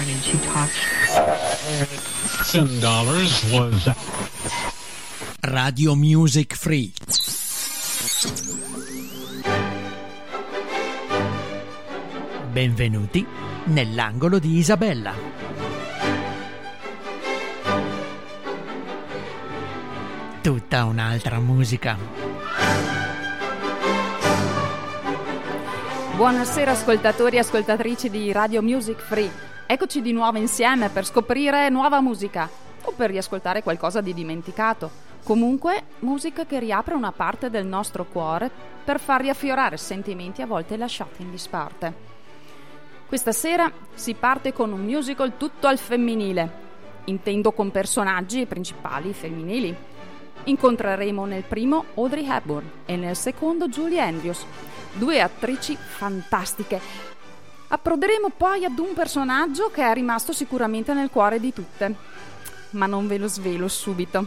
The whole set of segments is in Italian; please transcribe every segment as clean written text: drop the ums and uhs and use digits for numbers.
carnage he touched. $10 was Radio Music Free. Benvenuti nell'angolo di Isabella. Tutta un'altra musica. Buonasera ascoltatori e ascoltatrici di Radio Music Free. Eccoci di nuovo insieme per scoprire nuova musica o per riascoltare qualcosa di dimenticato. Comunque, musica che riapre una parte del nostro cuore per far riaffiorare sentimenti a volte lasciati in disparte. Questa sera si parte con un musical tutto al femminile, intendo con personaggi principali femminili. Incontreremo nel primo Audrey Hepburn e nel secondo Julie Andrews, due attrici fantastiche. Approderemo poi ad un personaggio che è rimasto sicuramente nel cuore di tutte, ma non ve lo svelo subito.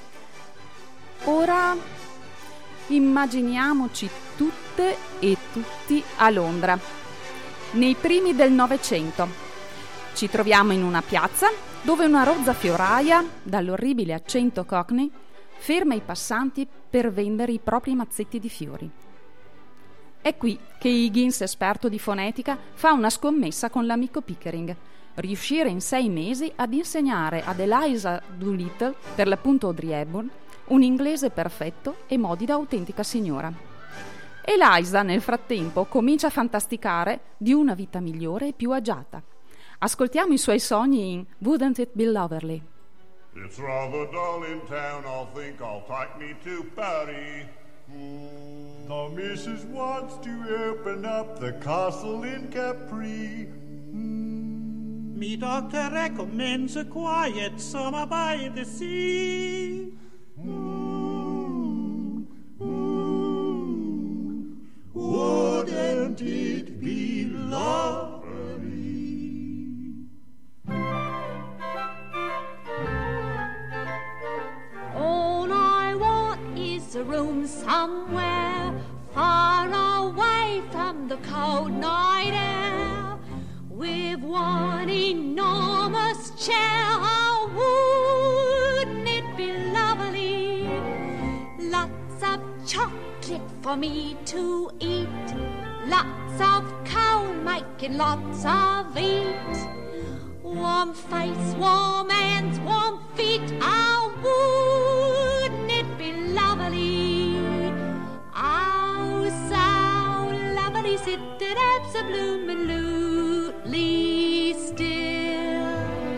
Ora immaginiamoci tutte e tutti a Londra, nei primi del Novecento. Ci troviamo in una piazza dove una rozza fioraia, dall'orribile accento cockney, ferma i passanti per vendere i propri mazzetti di fiori. È qui che Higgins, esperto di fonetica, fa una scommessa con l'amico Pickering: riuscire in 6 mesi ad insegnare ad Eliza Doolittle, per l'appunto Audrey Hepburn, un inglese perfetto e modi da autentica signora. Eliza, nel frattempo, comincia a fantasticare di una vita migliore e più agiata. Ascoltiamo i suoi sogni in Wouldn't It Be Lovely? It's rather dull in town, I think I'll take me to Paris. The missus wants to open up the castle in Capri. Me doctor recommends a quiet summer by the sea. Wouldn't it be lovely? All I want is a room somewhere far away from the cold night air, with one enormous chair. Oh, wouldn't it be lovely? Lots of chocolate for me to eat, lots of coal making lots of eat, warm face, warm hands, warm feet. Oh, wouldn't it be lovely? Oh, so lovely, sitting absolutely still.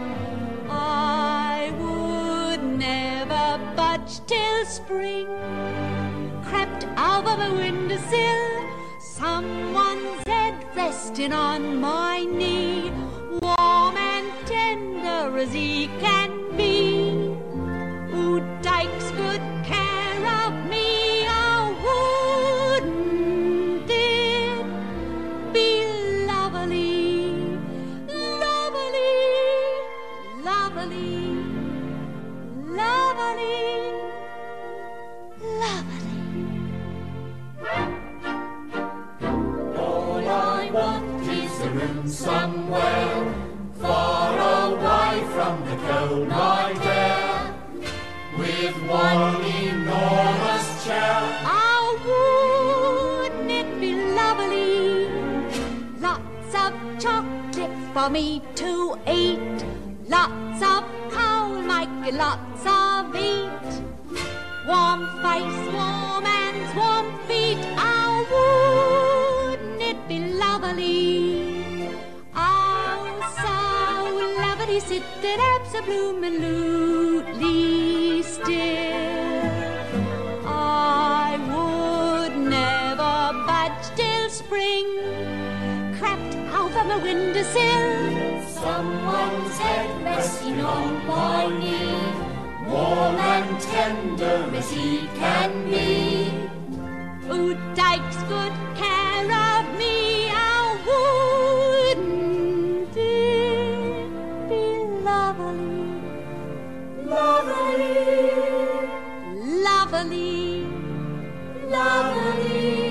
I would never budge till spring crept over my windowsill, someone's head resting on my knee, warm and tender as he can be, who takes good care of me. Oh, wouldn't it be lovely, lovely, lovely, lovely, lovely? All I want is a room somewhere far away from the cold night air, with one enormous chair. Oh, wouldn't it be lovely? Lots of chocolate for me to eat, lots of coal making lots of eat, warm face, warm hands, warm feet. Oh, wouldn't it be lovely? Oh, so lovely, sitting absolutely still. I would never budge till spring crept over my windowsill, Someone's head resting on my knee, warm and tender as he can be, who takes good care of me. Oh, wouldn't it be lovely, lovely, lovely, lovely.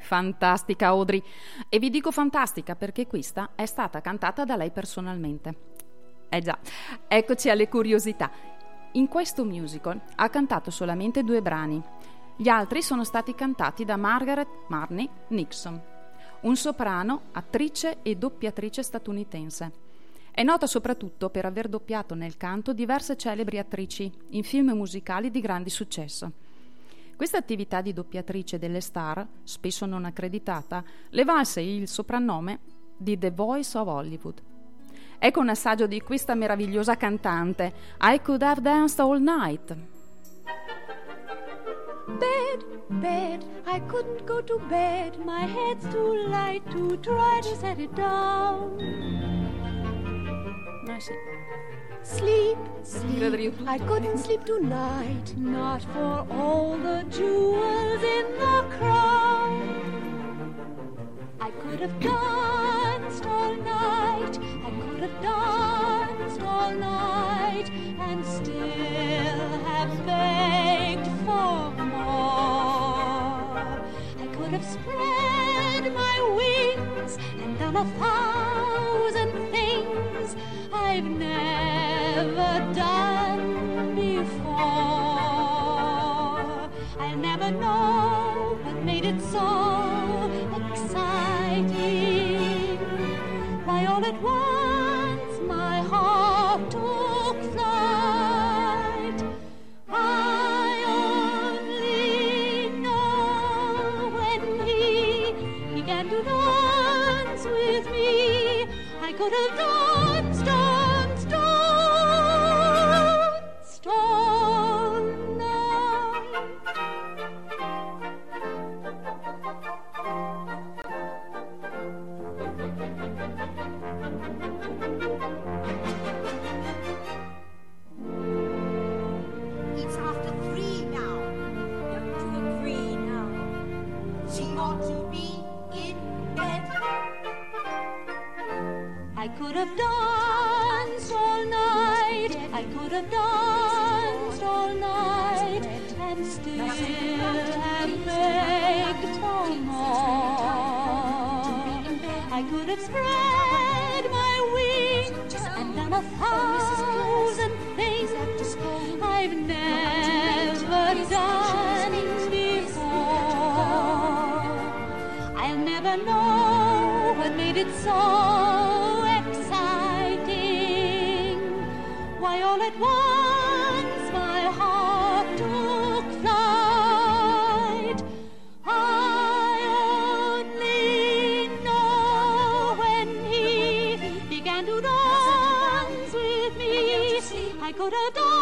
Fantastica Audrey, e vi dico fantastica perché questa è stata cantata da lei personalmente. Già, eccoci alle curiosità. In questo musical ha cantato solamente 2 brani. Gli altri sono stati cantati da Margaret Marnie Nixon, un soprano, attrice e doppiatrice statunitense. È nota soprattutto per aver doppiato nel canto diverse celebri attrici in film musicali di grande successo. Questa attività di doppiatrice delle star, spesso non accreditata, le valse il soprannome di The Voice of Hollywood. Ecco un assaggio di questa meravigliosa cantante, I Could Have Danced All Night. Bed, I couldn't go to bed. My head's too light to try to set it down. Sì. Sleep, I couldn't sleep tonight. Not for all the jewels in the crown. I could have danced all night. I could have danced all night and still have begged for more. I could have spread my wings and done 1,000 things I've never done before. I'll never know what made it so exciting. Why all at once my heart took flight. I only know when he began to dance with me, I could have danced all night. It's after 3 now. You're to agree now. She ought to be in bed. I could have danced all night. I could have danced all night and still have begged for more. I could have spread my wings and done 1,000 things I've never done before. I'll never know what made it so exciting. Why all at once my heart took flight. I only know when he began to dance with me, I could have danced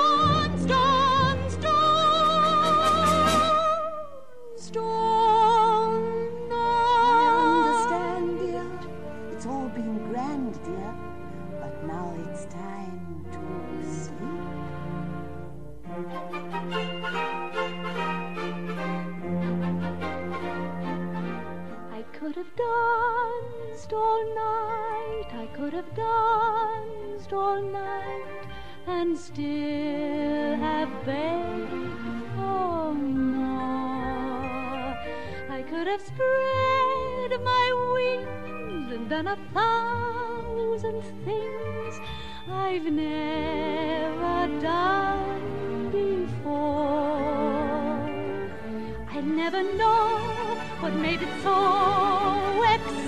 all night. I understand, dear. It's all been grand, dear. But now it's time to sleep. I could have danced all night. I could have danced all night and still have begged for more. I could have spread my wings and done 1,000 things I've never done before. I never know what made it so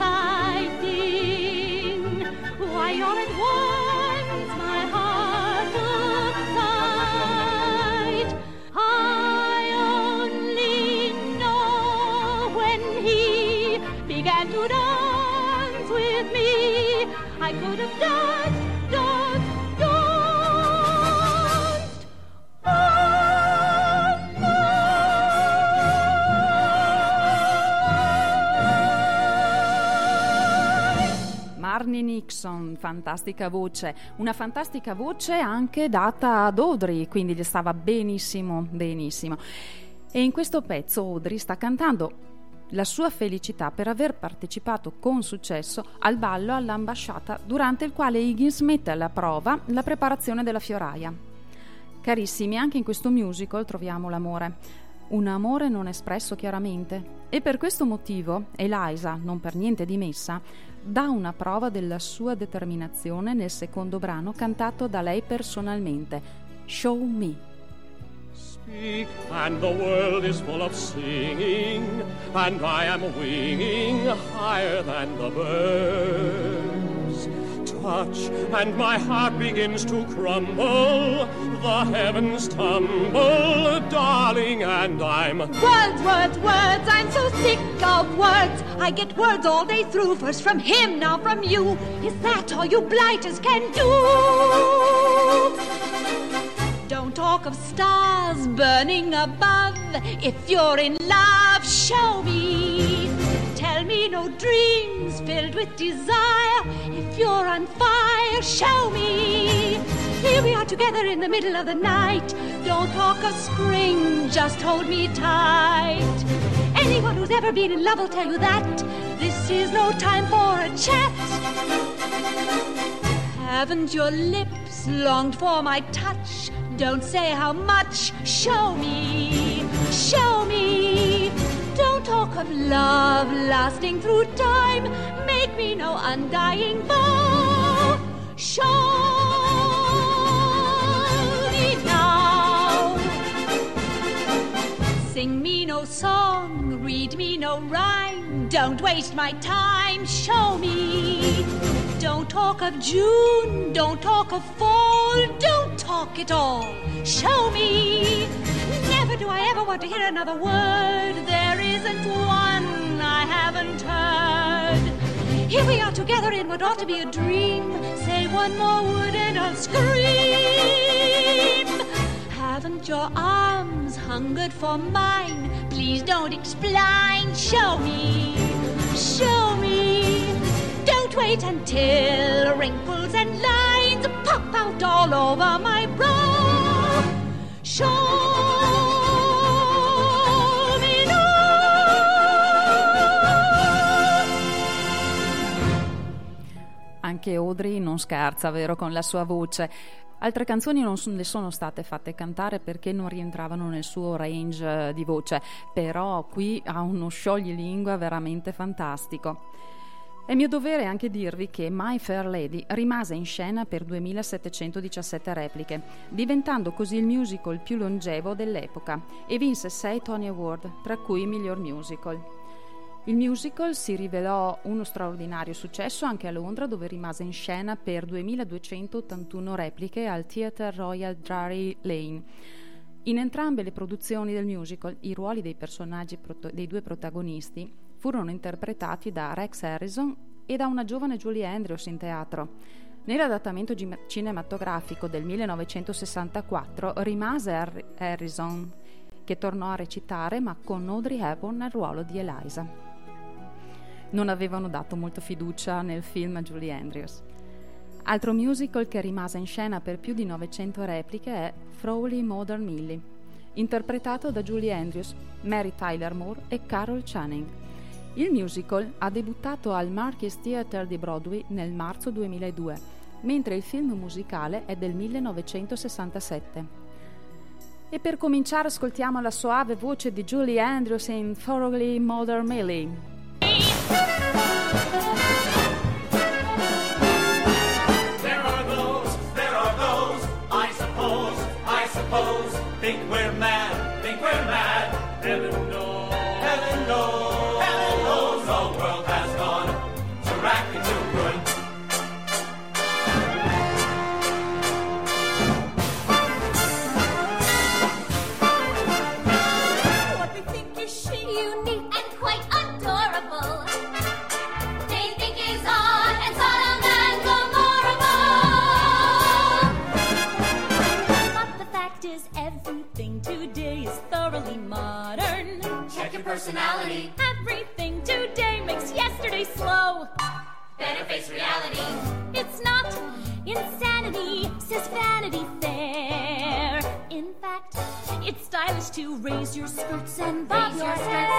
exciting. Why all at once my heart took flight. I only know when he began to dance with me, I could have danced Marnie Nixon, fantastica voce, una fantastica voce anche data ad Audrey, quindi gli stava benissimo, benissimo. E in questo pezzo Audrey sta cantando la sua felicità per aver partecipato con successo al ballo all'ambasciata, durante il quale Higgins mette alla prova la preparazione della fioraia. Carissimi, anche in questo musical troviamo l'amore. un amore non espresso chiaramente. E per questo motivo Eliza, non per niente dimessa, dà una prova della sua determinazione nel secondo brano cantato da lei personalmente, Show Me. Speak, and the world is full of singing, and I am winging higher than the birds. Touch, and my heart begins to crumble, the heavens tumble, darling, and I'm... Words, words, words, I'm so sick of words. I get words all day through, first from him, now from you. Is that all you blighters can do? Don't talk of stars burning above. If you're in love, show me. Tell me no dreams filled with desire. If you're on fire, show me. Here we are together in the middle of the night. Don't talk of spring, just hold me tight. Anyone who's ever been in love will tell you that this is no time for a chat. Haven't your lips longed for my touch? Don't say how much. Show me, show me. Don't talk of love lasting through time. Make me no undying vow. Show me now. Sing me no song, read me no rhyme. Don't waste my time. Show me. Don't talk of June, don't talk of fall, don't talk at all. Show me. Never do I ever want to hear another word. There isn't one I haven't heard. Here we are together in what ought to be a dream. Say one more word and I'll scream. Haven't your arms hungered for mine? Please don't explain. Show me, show me. Don't wait until wrinkles and lines pop out all over my brow. Show me now. Anche Audrey non scherza, vero, con la sua voce. Altre canzoni non le sono state fatte cantare perché non rientravano nel suo range di voce, però qui ha uno scioglilingua veramente fantastico. È mio dovere anche dirvi che My Fair Lady rimase in scena per 2717 repliche, diventando così il musical più longevo dell'epoca e vinse 6 Tony Award, tra cui miglior musical. Il musical si rivelò uno straordinario successo anche a Londra, dove rimase in scena per 2281 repliche al Theatre Royal Drury Lane. In entrambe le produzioni del musical i ruoli dei personaggi dei due protagonisti furono interpretati da Rex Harrison e da una giovane Julie Andrews in teatro. Nell'adattamento cinematografico del 1964 rimase Harrison, che tornò a recitare ma con Audrey Hepburn nel ruolo di Eliza. Non avevano dato molta fiducia nel film a Julie Andrews. Altro musical che rimase in scena per più di 900 repliche è Frawley Modern Millie, interpretato da Julie Andrews, Mary Tyler Moore e Carol Channing. Il musical ha debuttato al Marquis Theatre di Broadway nel marzo 2002, mentre il film musicale è del 1967. E per cominciare ascoltiamo la soave voce di Julie Andrews in Frawley Modern Millie. There are those, I suppose, think we're mad, heaven knows, the world has gone to racket too good. What we think is chic, unique, and quite adorable, they think is odd and solemn and memorable. But the fact is, everything today is thoroughly modern. Check your personality, Everything today makes yesterday slow. better face reality. It's not insanity, says Vanity Fair. In fact, it's stylish to raise your skirts and bob your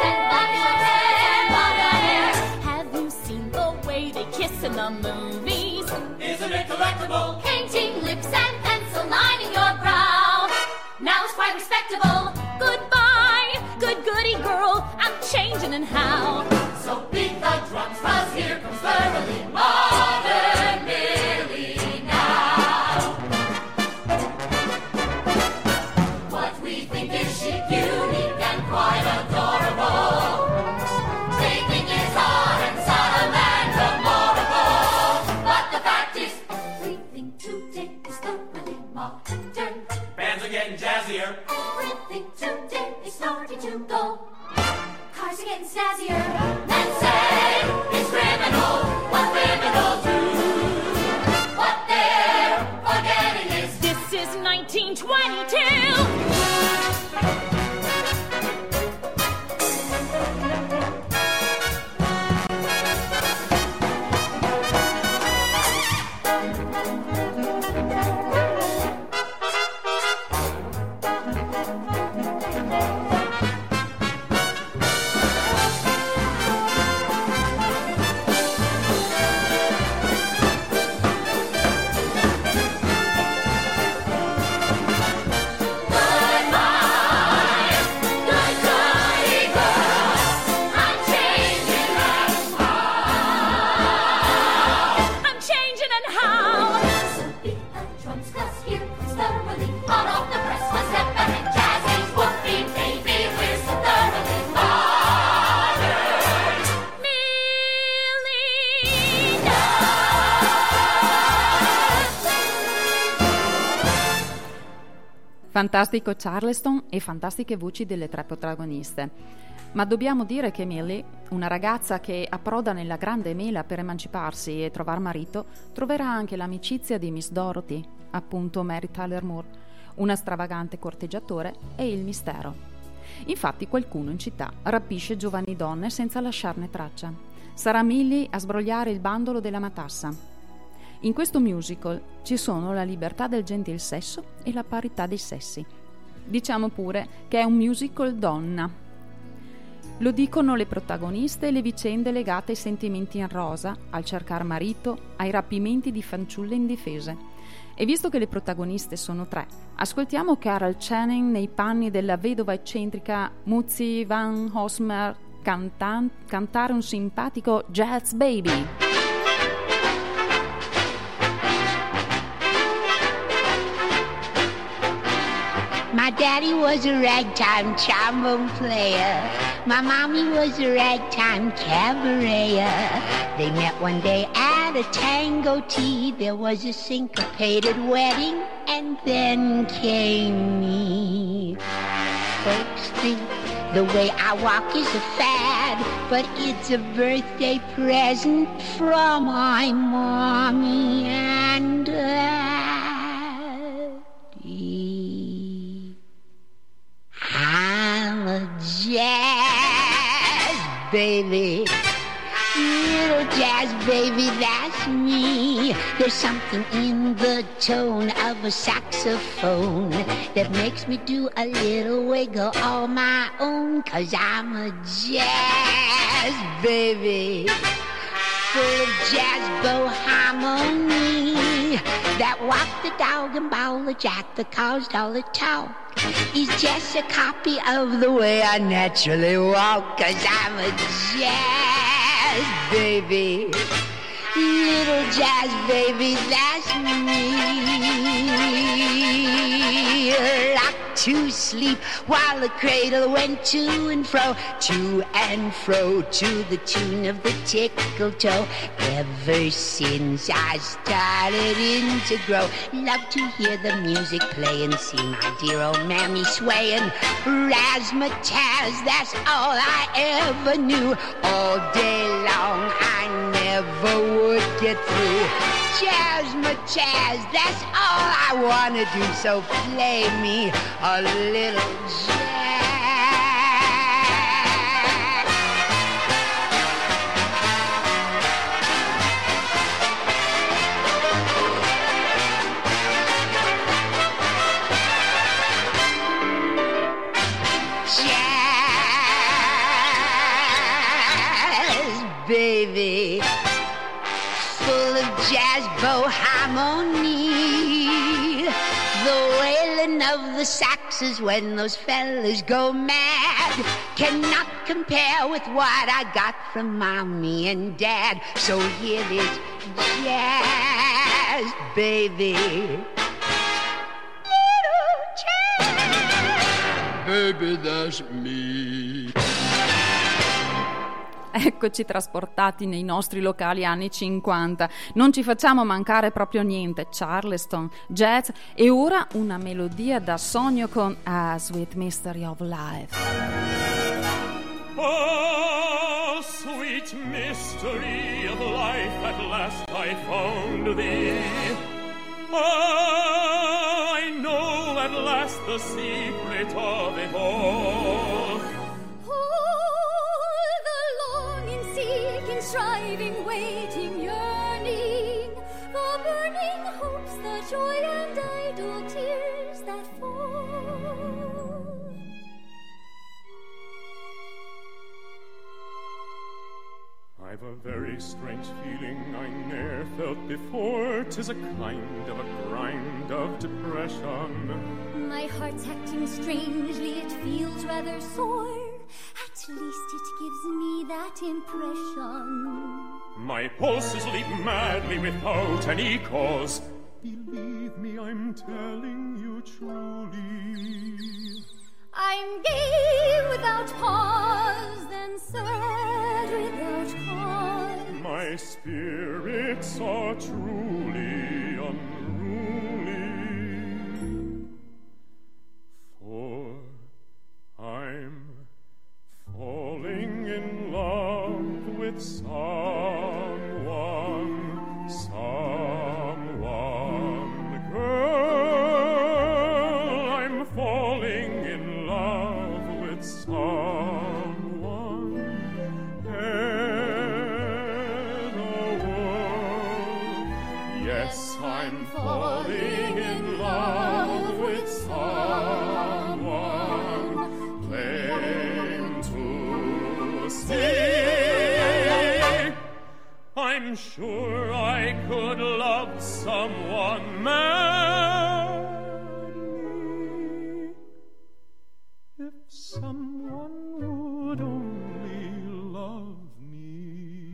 hair. Have you seen the way they kiss in the movies? Isn't it delectable? Painting lips and pencil lining your brow. Now it's quite respectable. Goodbye goody girl. I'm changing and how. So beat the drums, 'cause here comes thoroughly modern Millie now. What we think is chic, unique, and quite adorable. They think it's hot and solemn and memorable. But the fact is, everything today is thoroughly modern. Bands are getting jazzier. Everything today is starting to go. Cars are getting snazzier. Men say it's criminal what criminals do. What they're forgetting is this is 1922. Fantastico Charleston e fantastiche voci delle tre protagoniste. Ma dobbiamo dire che Millie, una ragazza che approda nella grande mela per emanciparsi e trovar marito, troverà anche l'amicizia di Miss Dorothy, appunto Mary Tyler Moore, una stravagante corteggiatore, e il mistero. Infatti qualcuno in città rapisce giovani donne senza lasciarne traccia. Sarà Millie a sbrogliare il bandolo della matassa. In questo musical ci sono la libertà del gentil sesso e la parità dei sessi. Diciamo pure che è un musical donna. Lo dicono le protagoniste e le vicende legate ai sentimenti in rosa, al cercar marito, ai rapimenti di fanciulle indifese. E visto che le protagoniste sono tre, ascoltiamo Carol Channing nei panni della vedova eccentrica Mutzi Van Hosmer cantare un simpatico Jazz Baby. My daddy was a ragtime trombone player. My mommy was a ragtime cabareter. They met one day at a tango tea. There was a syncopated wedding, and then came me. Folks think the way I walk is a fad, but it's a birthday present from my mommy and daddy. I'm a jazz baby, little jazz baby, that's me. There's something in the tone of a saxophone that makes me do a little wiggle on my own, 'cause I'm a jazz baby, full of jazz bow harmony, that walk the dog and bowl the jack that caused all the talk. He's just a copy of the way I naturally walk, 'cause I'm a jazz baby, little jazz baby, that's me. Rocked to sleep while the cradle went to and fro to the tune of the tickle toe. Ever since I started in to grow, love to hear the music play and see my dear old mammy swaying. Razzmatazz, that's all I ever knew. All day long I never would get through. Jazzmatazz, that's all I wanna do, so play me a little jazz. Jazz, baby, full of jazz bow harmony, the wailing of the saxes when those fellas go mad. cannot compare with what I got from Mommy and Dad. So hear this jazz, baby. Little jazz. Baby, that's me. Eccoci trasportati nei nostri locali anni 50. Non ci facciamo mancare proprio niente. Charleston, jazz e ora una melodia da sogno con A Sweet Mystery of Life. Oh, sweet mystery of life, at last I found thee. Oh, I know at last the secret of it all. Striving, waiting, yearning, the burning hopes, the joy and idle tears that fall. I've a very strange feeling I ne'er felt before. 'Tis a kind of a grind of depression. My heart's acting strangely, it feels rather sore. At least it gives me that impression. My pulses leap madly without any cause. Believe me, I'm telling you truly. I'm gay without pause, then sad without cause. My spirits are truly unruly, for I'm falling in love with someone, girl, I'm falling in love with someone, and yes, I'm falling in love with someone, claim to see. I'm sure I could love someone madly if someone would only love me.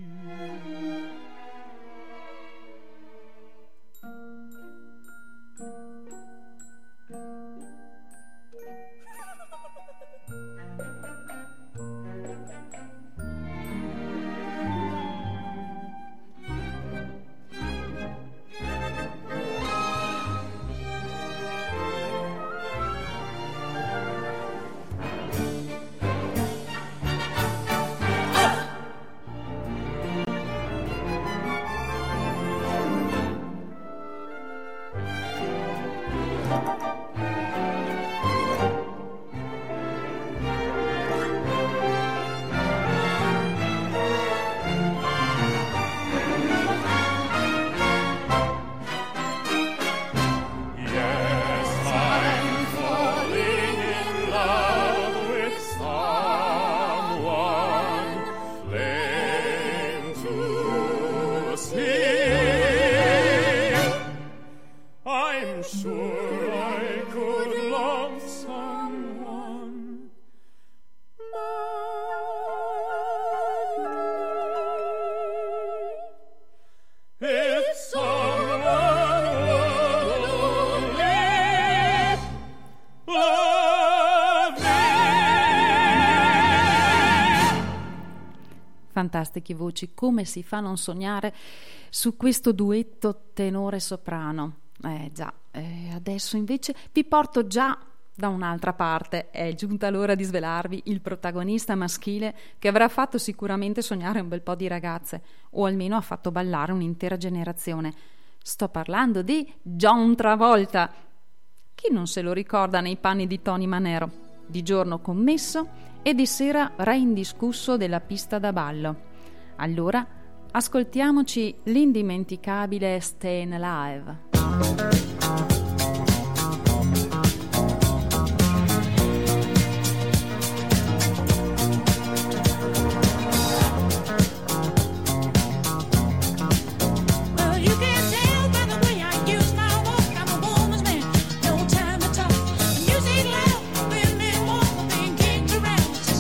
Fantastiche voci, come si fa a non sognare su questo duetto tenore-soprano? Adesso invece vi porto già da un'altra parte. È giunta l'ora di svelarvi il protagonista maschile che avrà fatto sicuramente sognare un bel po' di ragazze, o almeno ha fatto ballare un'intera generazione. Sto parlando di John Travolta. Chi non se lo ricorda nei panni di Tony Manero, di giorno commesso e di sera re indiscusso della pista da ballo. Allora ascoltiamoci l'indimenticabile Stayin' Alive. Music loud, women walk, being kicked around.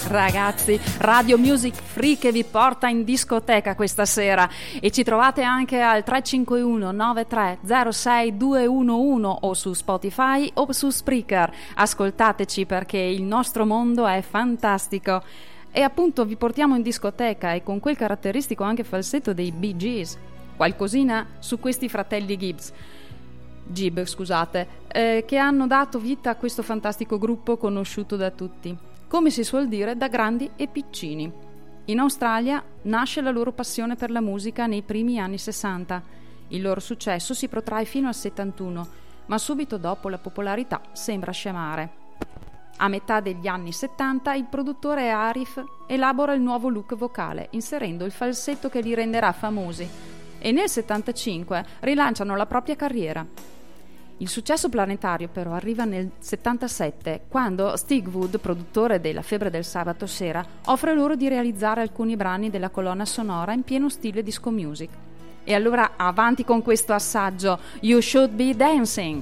Ragazzi, Radio Music Free che vi porta in discoteca questa sera, e ci trovate anche al 351 9306 211 o su Spotify o su Spreaker. Ascoltateci perché il nostro mondo è fantastico. E appunto vi portiamo in discoteca, e con quel caratteristico anche falsetto dei Bee Gees. Qualcosina su questi fratelli Gibb, che hanno dato vita a questo fantastico gruppo conosciuto da tutti, come si suol dire, da grandi e piccini. In Australia nasce la loro passione per la musica nei primi anni 60. Il loro successo si protrae fino al 71, ma subito dopo la popolarità sembra scemare. A metà degli anni 70 il produttore Arif elabora il nuovo look vocale, inserendo il falsetto che li renderà famosi, e nel 75 rilanciano la propria carriera. Il successo planetario però arriva nel 77, quando Stig Wood, produttore della Febbre del sabato sera, offre loro di realizzare alcuni brani della colonna sonora in pieno stile disco music. E allora avanti con questo assaggio, You Should Be Dancing!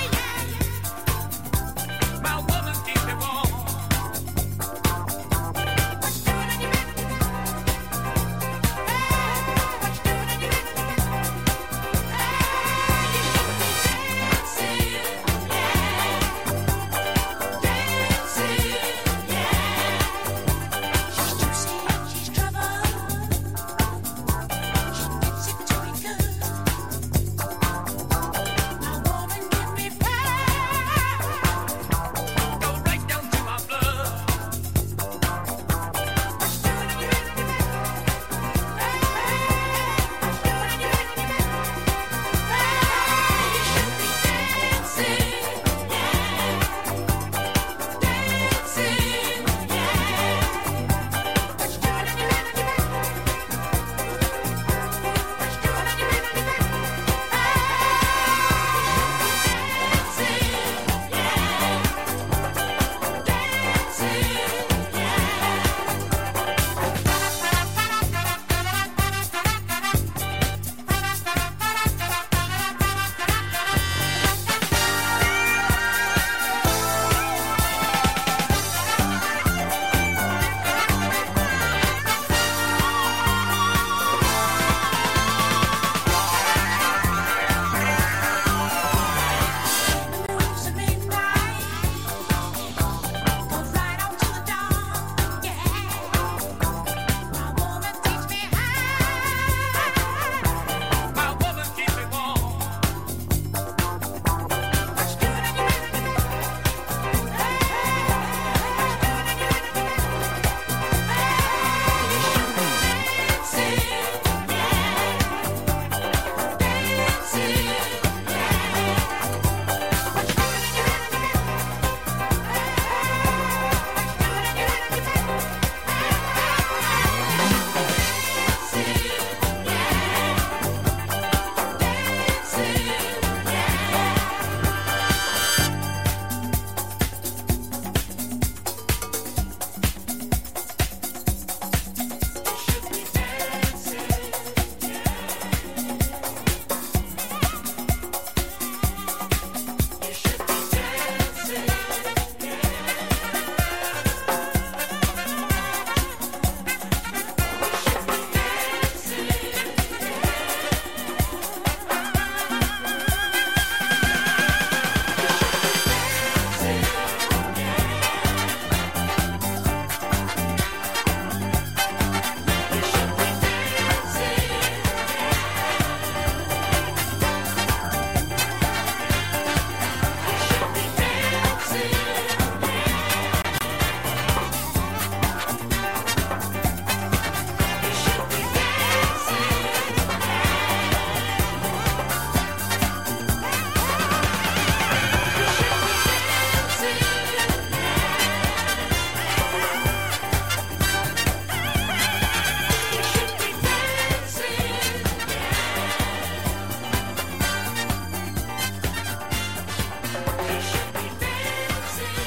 My woman keep me warm.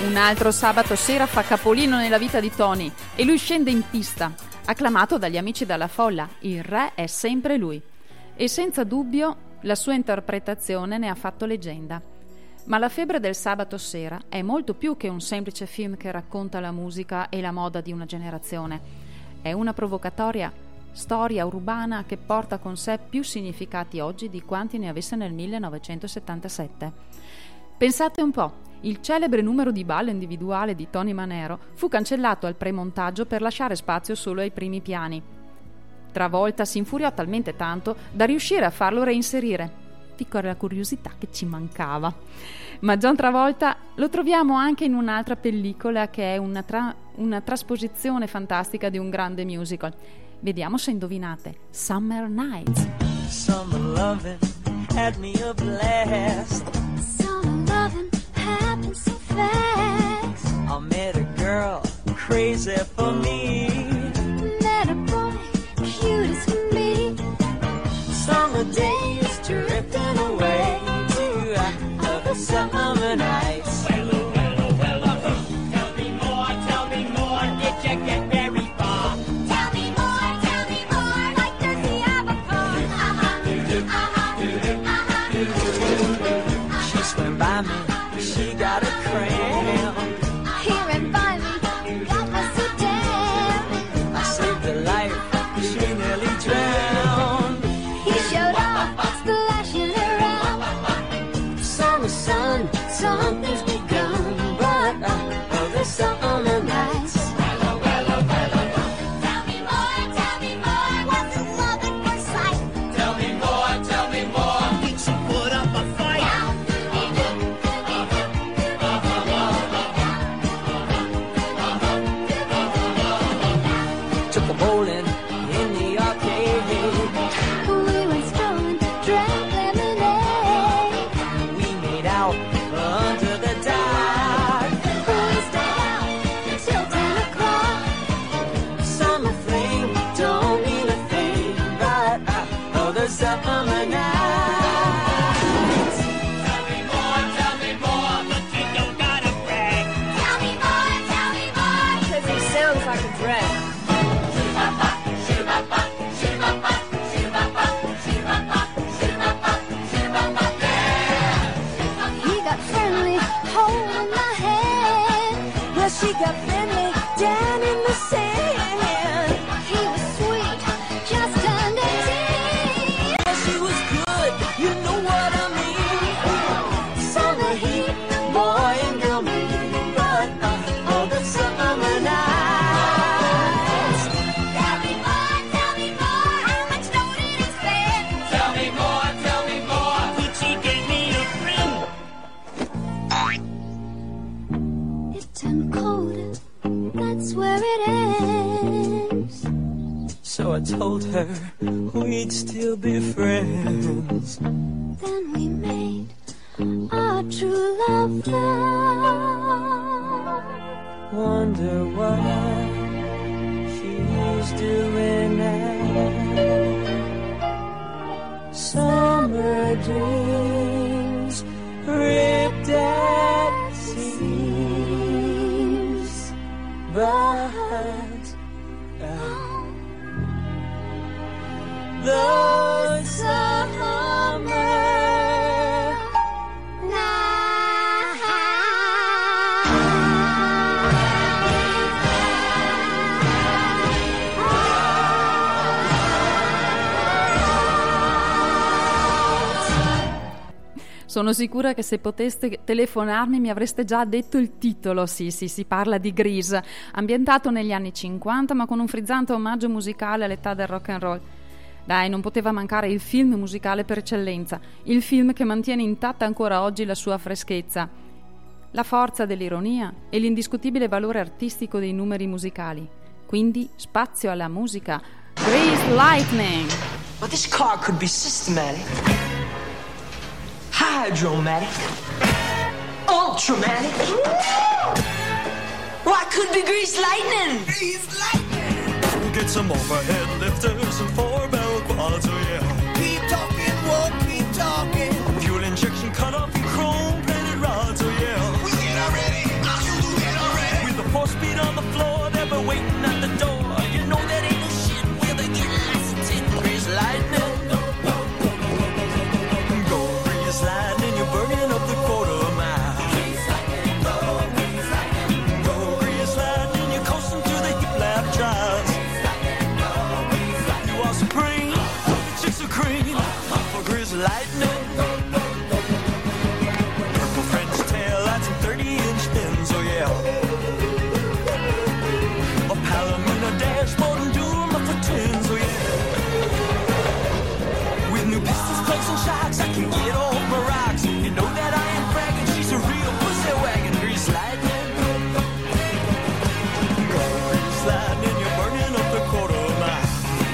Un altro sabato sera fa capolino nella vita di Tony e lui scende in pista, acclamato dagli amici della folla. Il re è sempre lui. E senza dubbio la sua interpretazione ne ha fatto leggenda. Ma La febbre del sabato sera è molto più che un semplice film che racconta la musica e la moda di una generazione. È una provocatoria storia urbana che porta con sé più significati oggi di quanti ne avesse nel 1977. Pensate un po', il celebre numero di ballo individuale di Tony Manero fu cancellato al premontaggio per lasciare spazio solo ai primi piani. Travolta si infuriò talmente tanto da riuscire a farlo reinserire. Piccola curiosità che ci mancava. Ma John Travolta lo troviamo anche in un'altra pellicola che è una trasposizione fantastica di un grande musical. Vediamo se indovinate. Summer Nights. Summer loving had me a blast. Summer loving happened so fast. I met a girl crazy for me. Met a boy cute as can be. Summer days drifting away to other summer nights. Tell me more, did you get very far? Tell me more, like does he have a car? She swam by me, she got a cramp. He ran by me, that was so damn. I saved her life, she nearly drowned. He showed up, splashing around. Summer sun, something's begun, but other summer nights. Tell me more, what's the love at first sight? Tell me more. Did she put up a fight? Took a bowling in the arcade. We went strolling, drank lemonade. We made out under the dark. We stayed out till 10 o'clock. Summer flame don't mean a thing, but other summer nights. Tell me more, but you don't gotta brag. Tell me more, 'cause he sounds like a drag. He got friendly, holding my hand. Well, she got friendly down in the sand. He was sweet, just under 10. Well, she was good, you know what I mean. Summer heat, boy and girl meet, but other summer nights. Tell me more, how much load did he spend? Tell me more. Gucci gave me a friend. It turned colder, that's where it ends. So I told her we'd still be friends. Then we made our true love vow. Wonder what she's doing now. Summer dreams ripped at seams, but the summer Sono sicura che se poteste telefonarmi mi avreste già detto il titolo. Sì, si parla di Grease, ambientato negli anni 50 ma con un frizzante omaggio musicale all'età del rock and roll. Dai, non poteva mancare il film musicale per eccellenza, il film che mantiene intatta ancora oggi la sua freschezza, la forza dell'ironia e l'indiscutibile valore artistico dei numeri musicali. Quindi spazio alla musica. Grease Lightning. Well, this car could be systematic, hydromatic, ultramatic. Well, I could be Grease Lightning. Grease Lightning. Get some overhead lifters and 4-barrel quads, oh yeah. Keep talking, won't keep talking. Fuel injection cut off and chrome-plated rods, oh yeah. We ain't already. I'll Grease lightning. Purple French tail lights and 30-inch fins, oh yeah. A Palomino dashboard and dual muffler twins, oh yeah. With new pistols, plates, and shocks, I can get off my rocks. You know that I ain't bragging, she's a real pussy wagon. Grease lightning. Grease lightning, you're burning up the quarter mile.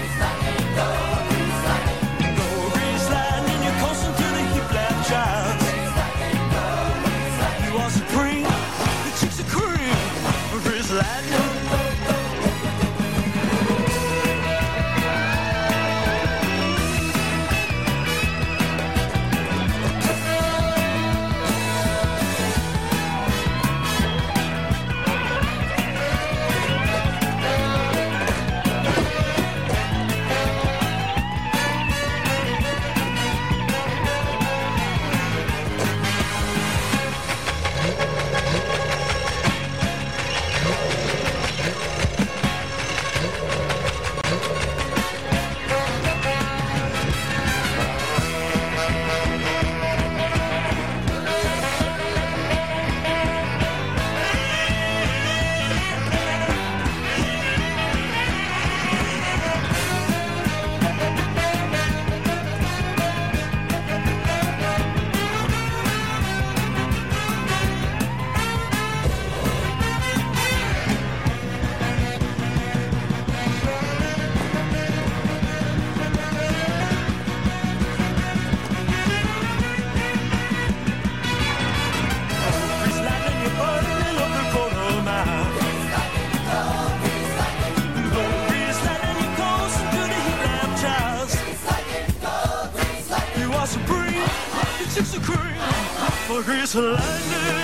Grease lightning.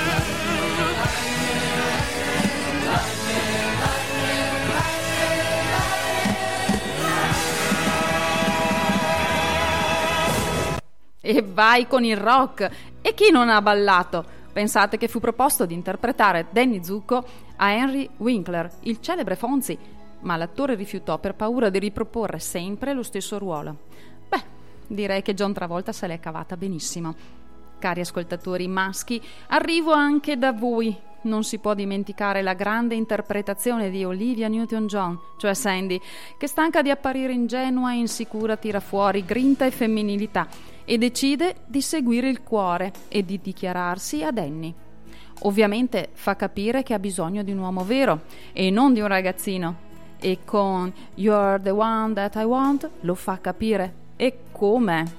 E vai con il rock! E chi non ha ballato? Pensate che fu proposto di interpretare Danny Zuko a Henry Winkler, il celebre Fonzie, ma l'attore rifiutò per paura di riproporre sempre lo stesso ruolo. Beh, direi che John Travolta se l'è cavata benissimo. Cari ascoltatori maschi, arrivo anche da voi. Non si può dimenticare la grande interpretazione di Olivia Newton-John, cioè Sandy, che stanca di apparire ingenua e insicura tira fuori grinta e femminilità e decide di seguire il cuore e di dichiararsi a Danny. Ovviamente fa capire che ha bisogno di un uomo vero e non di un ragazzino, e con You're the one that I want lo fa capire. E come?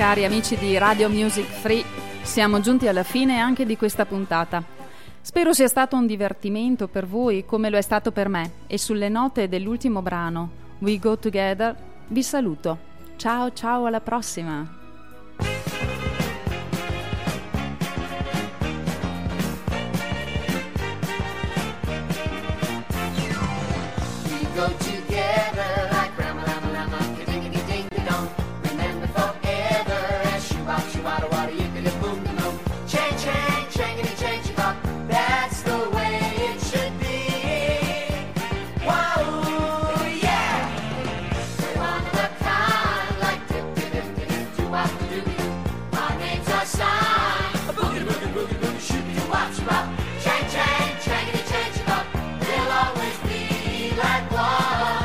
cari amici di Radio Music Free, siamo giunti alla fine anche di questa puntata. Spero sia stato un divertimento per voi come lo è stato per me, e sulle note dell'ultimo brano, We Go Together, vi saluto. Ciao ciao, alla prossima! Go together like Rama Lama Lama, ka-ding-a-ding ding dong. Remember forever as shoo-bop, shoo-wada wada, yippity boom boom boom. Chang chang, changity chang chang. That's the way it should be. Whoa, yeah. We're one of a kind, like dip dip dip dip, doo-wop doo-doo. Our names are signed. A boogie boogie boogie boogie, shoot doo-wop shoo-bop. Chang chang, changity chang chang. We'll always be like one.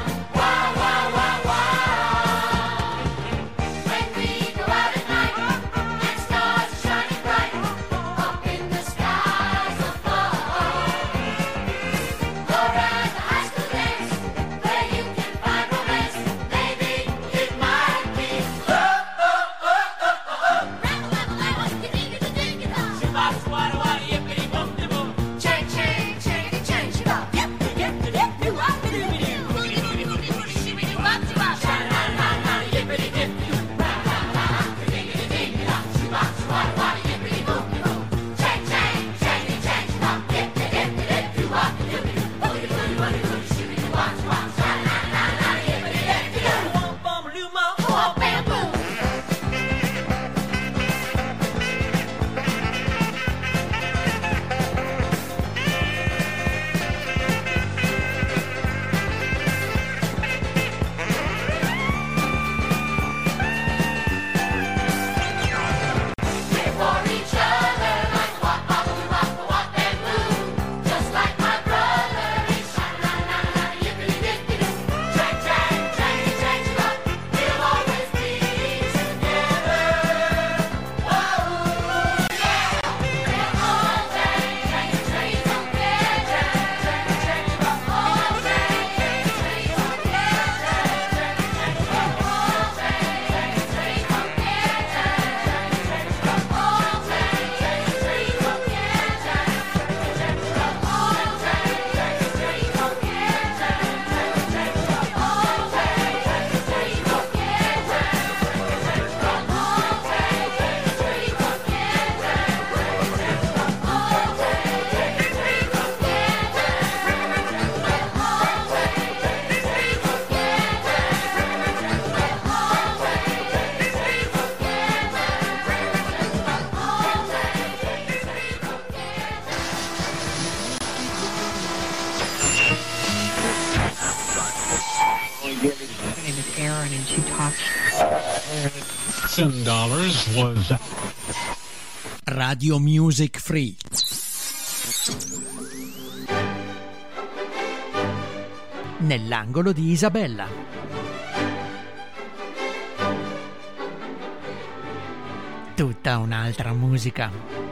$10 was Radio Music Free. Nell'angolo di Isabella. Tutta un'altra musica.